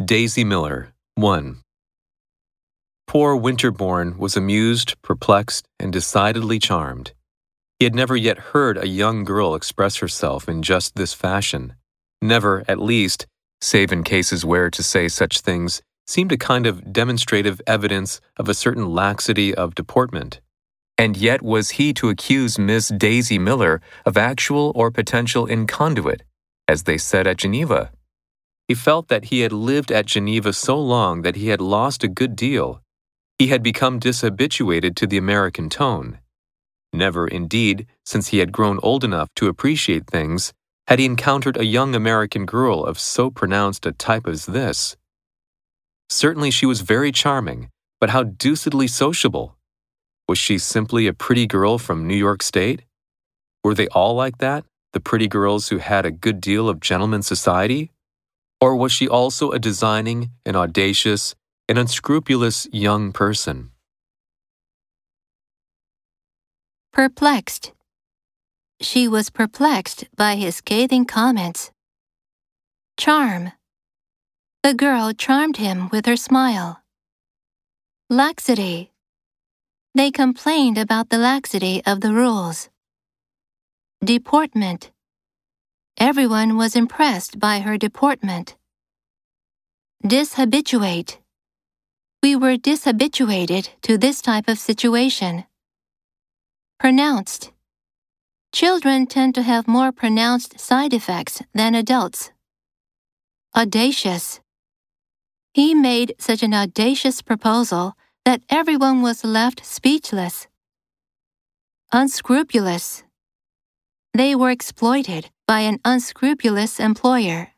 Daisy Miller, 1. Poor Winterbourne was amused, perplexed, and decidedly charmed. He had never yet heard a young girl express herself in just this fashion. Never, at least, save in cases where to say such things seemed a kind of demonstrative evidence of a certain laxity of deportment. And yet was he to accuse Miss Daisy Miller of actual or potential inconduit, as they said at Geneva? He felt that he had lived at Geneva so long that he had lost a good deal. He had become dishabituated to the American tone. Never, indeed, since he had grown old enough to appreciate things, had he encountered a young American girl of so pronounced a type as this. Certainly she was very charming, but how deucedly sociable! Was she simply a pretty girl from New York State? Were they all like that, the pretty girls who had a good deal of gentleman's society? Or was she also a designing, an audacious, an unscrupulous young person? Perplexed. She was perplexed by his scathing comments. Charm. The girl charmed him with her smile. Laxity. They complained about the laxity of the rules. Deportment. Everyone was impressed by her deportment. Dishabituate. We were dishabituated to this type of situation. Pronounced. Children tend to have more pronounced side effects than adults. Audacious. He made such an audacious proposal that everyone was left speechless. Unscrupulous. They were exploited by an unscrupulous employer.